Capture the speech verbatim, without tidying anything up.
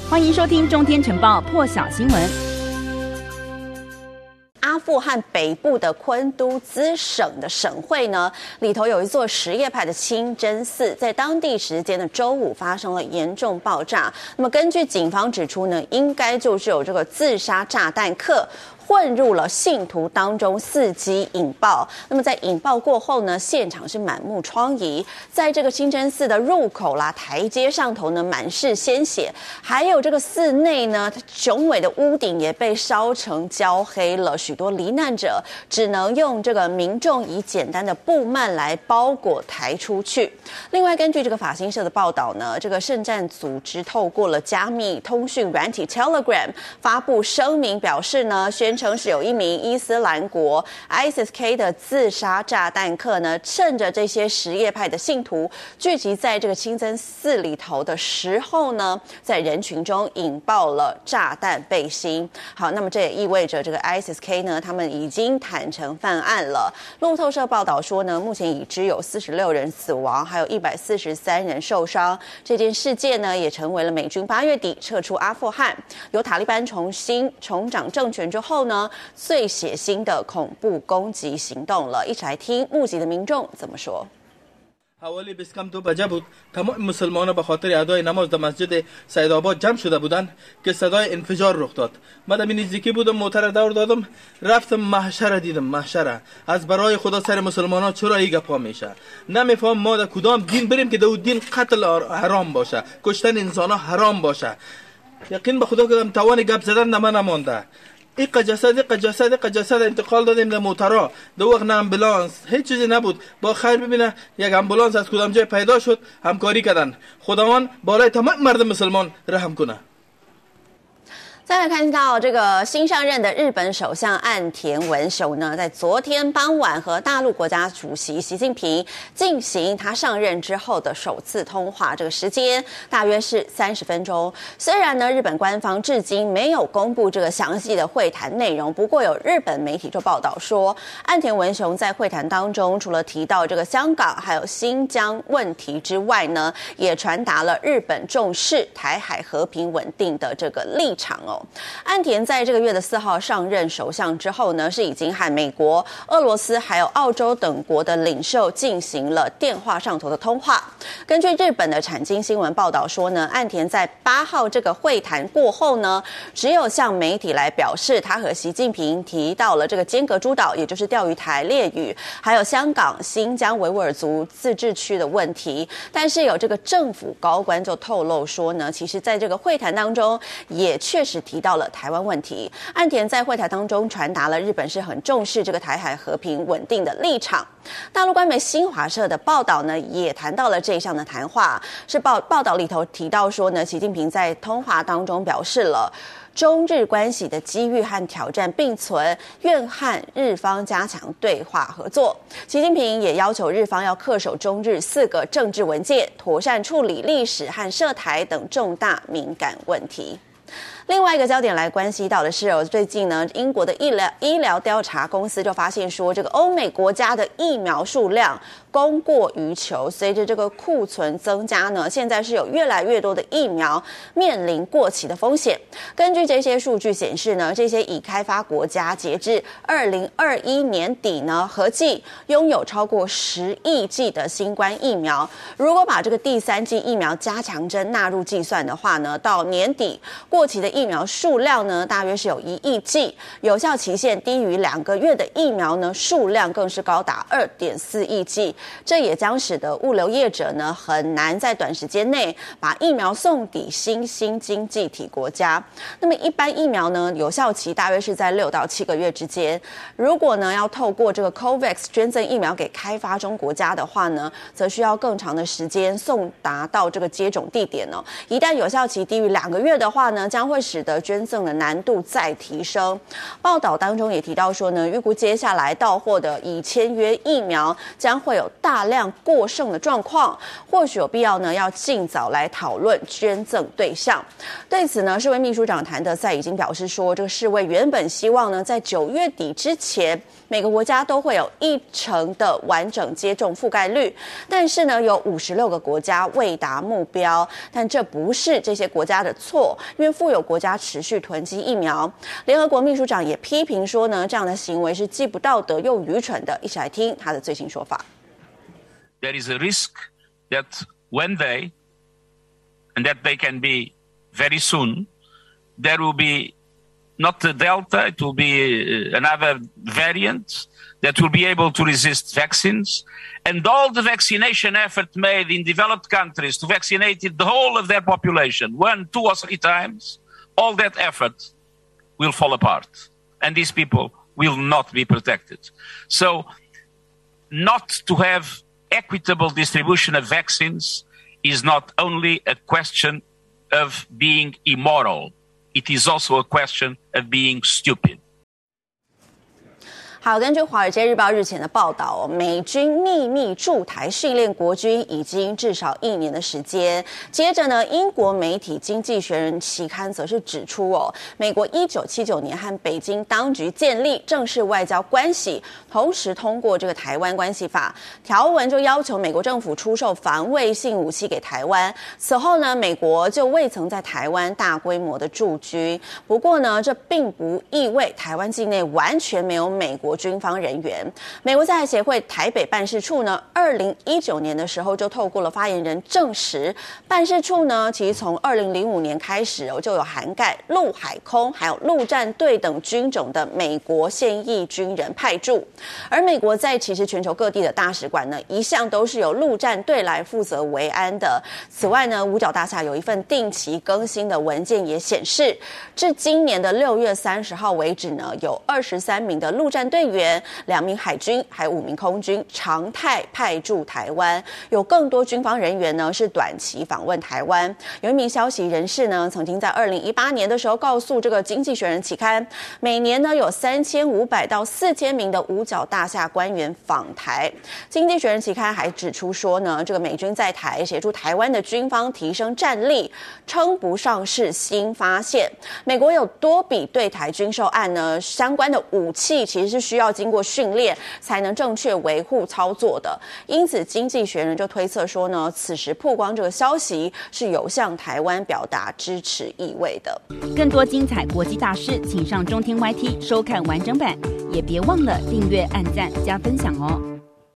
歡迎收聽中天晨報破曉新聞。 阿富汗北部的昆都茲省的省會呢，裡頭有一座什葉派的清真寺，在當地時間的週五發生了嚴重爆炸。那麼根據警方指出呢，應該就是有這個自殺炸彈客混入了信徒當中，伺機引爆。那麼在引爆過後呢，現場是滿目瘡痍，在這個清真寺的入口啦、台階上頭呢，滿是鮮血，還有這個寺內呢，雄偉的屋頂也被燒成焦黑了。許多罹難者只能用這個民眾以簡單的布幔來包裹抬出去。另外，根據這個法新社的報道呢，這個聖戰組織透過了加密通訊軟體 Telegram 發布聲明，表示呢，宣稱是有一名伊斯蘭國 I S K 的自殺炸彈客呢，趁着這些什葉派的信徒聚集在這個清真寺裡頭的時候呢，在人群中引爆了炸彈背心。好，那麼這也意味着這個 I S K 呢，他們已經坦承犯案了。路透社報道說呢，目前已知有四十六人死亡，還有一百四十三人受傷。這件事件呢，也成為了美軍八月底撤出阿富汗，由塔利班重新重掌政權之後呢，最血腥的恐怖攻擊行動了。一起來聽目擊的民眾怎麼說。 حوالی بیست کم دو بجه بود. تمام مسلمانان به خاطر ادای نماز در مسجد سیدآباد جمع شده بودند که صدای انفجار رخ داد. من در نزدیکی بودم، موتر دور دادم، رفتم محشر دیدم. محشر از برای خدا سر مسلمانان چرا این گپا میشه؟ نمیفهم ما در کدام دین بریم که در دین قتل حرام باشه، کشتن انسان ها حرام باشه. یقین به خدا که توان گپ زدن نما نمانده. این جسد این جسد این جسد انتقال دادیم به موترا، دو وقت امبولانس هیچ چیزی نبود. با خیر ببینه یک امبولانس از کدام جای پیدا شد، همکاری کردن. خداوند بالای تمام مردم مسلمان رحم کنه. 再来看到這個新上任的日本首相岸田文雄呢，在昨天傍晚和大陸國家主席習近平進行他上任之後的首次通話，這個時間大約是三十分鐘。雖然呢，日本官方至今沒有公布這個詳細的會談內容，不過有日本媒體就報道說，岸田文雄在會談當中除了提到這個香港還有新疆問題之外呢，也傳達了日本重視台海和平穩定的這個立場哦。岸田在這個月的四號上任首相之後呢，是已經和美國、俄羅斯還有澳洲等國的領袖進行了電話上頭的通話。根據日本的產經新聞報道說呢，岸田在八號這個會談過後呢，只有向媒體來表示，他和習近平提到了這個尖閣諸島，也就是釣魚台列嶼，還有香港、新疆維吾爾族自治區的問題。但是有這個政府高官就透露說呢，其實在這個會談當中也確實提到了台灣問題。岸田在會談當中傳達了日本是很重視這個台海和平穩定的立場。大陸官媒新華社的報道呢，也談到了這一項的談話，是報報道裡頭提到說呢，習近平在通話當中表示了中日關係的機遇和挑戰並存，願和日方加強對話合作。習近平也要求日方要恪守中日四個政治文件，妥善處理歷史和涉台等重大敏感問題。另外一個焦點來關係到的是，最近呢，英國的醫療醫療調查公司就發現說，這個歐美國家的疫苗數量供過於求，隨着這個庫存增加呢，現在是有越來越多的疫苗面臨過期的風險。根據這些數據顯示呢，這些已開發國家截至二零二一年底呢，合計擁有超過十億劑的新冠疫苗。如果把這個第三劑疫苗加強針納入計算的話呢，到年底過期的疫苗數量呢，大約是有一億劑，有效期限低於兩個月的疫苗呢，數量更是高達二點四億劑。這也將使得物流業者呢，很難在短時間內把疫苗送抵新興經濟體國家。那麼一般疫苗呢，有效期大約是在六到七個月之間。如果呢要透過這個 COVAX 捐贈疫苗給開發中國家的話呢，則需要更長的時間送達到這個接種地點哦。一旦有效期低於兩個月的話呢， 呢，將會使得捐贈的難度再提升。報道當中也提到說呢，預估接下來到貨的已簽約疫苗將會有大量過剩的狀況，或許有必要呢要盡早來討論捐贈對象。對此呢，世衛秘書長譚德塞已經表示說，這個世衛原本希望呢在九月底之前，每個國家都會有一成的完整接種覆蓋率，但是呢，有五十六個國家未達目標。但這不是這些國家的錯，因為富有國家持續囤積疫苗。聯合國秘書長也批評說呢，這樣的行為是既不道德又愚蠢的。一起來聽他的最新說法。 There is a risk that one day, and that they can be very soon, there will be not the Delta, it will be another variant that will be able to resist vaccines. And all the vaccination effort made in developed countries to vaccinate the whole of their population, one, two or three times, all that effort will fall apart. And these people will not be protected. So not to have equitable distribution of vaccines is not only a question of being immoral. It is also a question of being stupid. 好，根據《華爾街日報》日前的報道，美軍秘密駐台訓練國軍已經至少一年的時間。接着呢，英國媒體《經濟學人》期刊則是指出哦，美國一九七九年和北京當局建立正式外交關係，同時通過這個《台灣關係法》條文，就要求美國政府出售防衛性武器給台灣。此後呢，美國就未曾在台灣大規模的駐軍。不過呢，這並不意味台灣境內完全沒有美國軍方人員。美國在台協會台北辦事處呢，二零一九年的時候就透過了發言人證實，辦事處呢其實從二零零五年開始哦，就有涵蓋陸海空還有陸戰隊等軍種的美國現役軍人派駐。而美國在其實全球各地的大使館呢，一向都是由陸戰隊來負責維安的。此外呢，五角大廈有一份定期更新的文件也顯示，至今年的六月三十號為止呢，有二十三名的陸戰隊員、兩名海軍，還有五名空軍常態派駐台灣。有更多軍方人員呢是短期訪問台灣。有一名消息人士呢，曾經在二零一八年的時候告訴這個《經濟學人》期刊，每年呢有三千五百到四千名的五角大廈官員訪台。《經濟學人》期刊還指出說呢，這個美軍在台協助台灣的軍方提升戰力，稱不上是新發現。美國有多筆對台軍售案呢，相關的武器其實是需要經過訓練才能正確維護操作的。因此，《經濟學人》就推測說呢，此時曝光這個消息是有向台灣表達支持意味的。 更多精彩國際大事，請上中天 Y T 收看完整版，也別忘了訂閱、按讚、加分享哦。